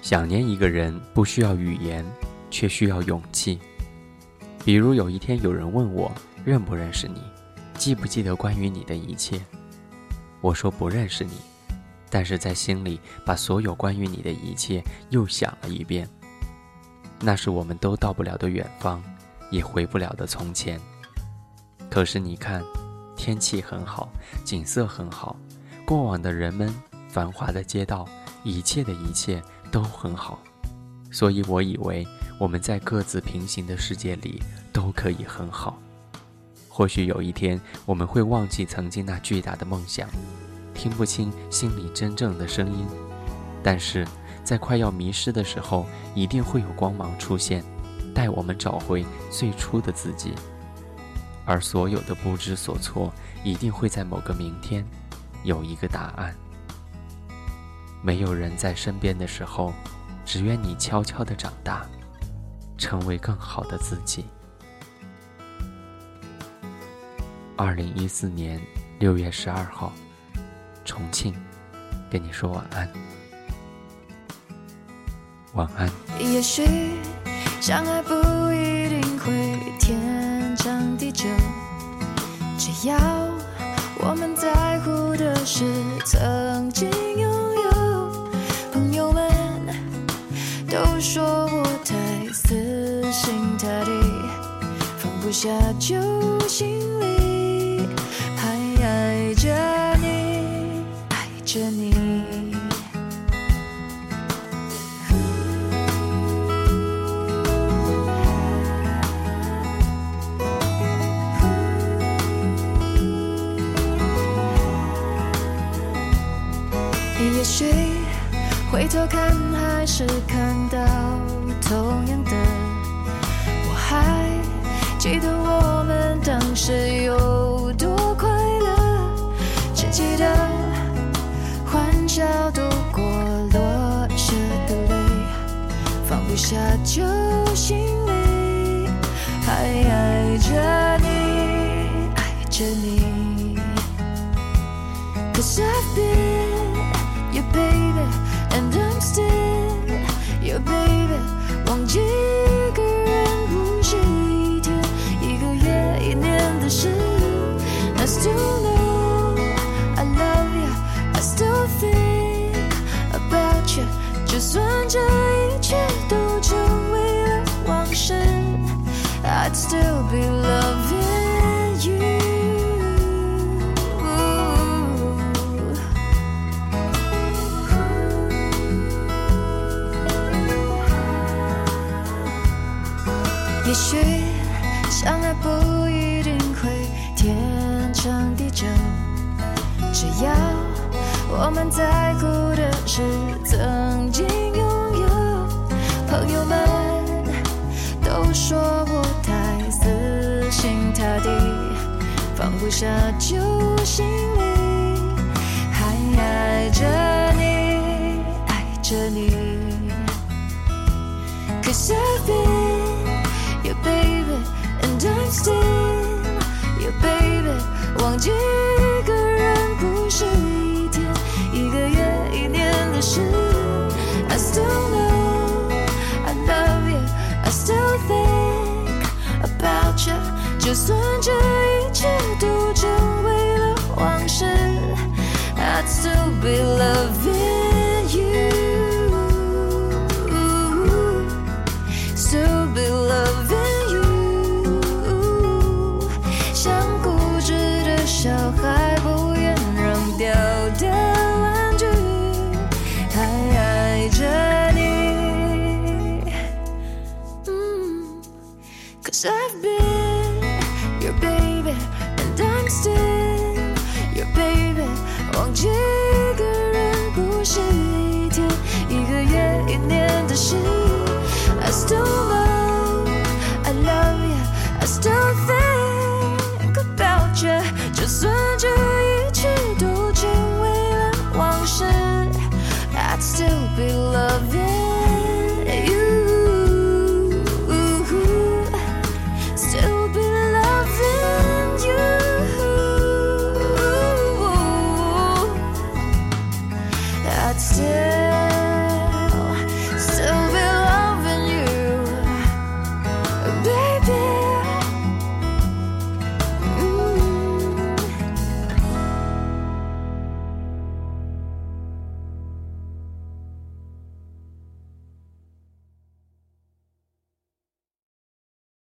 想念一个人不需要语言，却需要勇气。比如有一天有人问我认不认识你，记不记得关于你的一切，我说不认识你，但是在心里把所有关于你的一切又想了一遍。那是我们都到不了的远方，也回不了的从前。可是你看，天气很好，景色很好，过往的人们，繁华的街道，一切的一切都很好。所以我以为我们在各自平行的世界里都可以很好。或许有一天我们会忘记曾经那巨大的梦想，听不清心里真正的声音，但是在快要迷失的时候，一定会有光芒出现，带我们找回最初的自己。而所有的不知所措，一定会在某个明天有一个答案。没有人在身边的时候，只愿你悄悄地长大，成为更好的自己。2014年6月12号，重庆，跟你说晚安。晚安。 也许相爱不一定会天长地久，只要我们在乎的是曾经拥有。朋友们都说我太死心塌地，放不下旧心里，还爱着你，爱着你。也许回头看还是看到同样的，我还记得我们当时有多快乐，只记得欢笑度过落下的泪，放不下旧心里，还爱着你，爱着你。 Cause I've been your baby and I'm still your baby， 忘记一个人不是一天一个月一年的事。 I still know I love you, I still think about you， 就算这一切都成为了往事， I'd still be loving you。也许相爱不一定会天长地久，只要我们在乎的是曾经拥有。朋友们都说我太死心塌地，放不下旧心里，还爱着你，爱着你。 Cause I've been your baby and I'm still your baby， 忘记一个人不是一天一个月一年的事。 I still know I love you, I still think about you， 就算这一切都成为了往事， I'd still be loving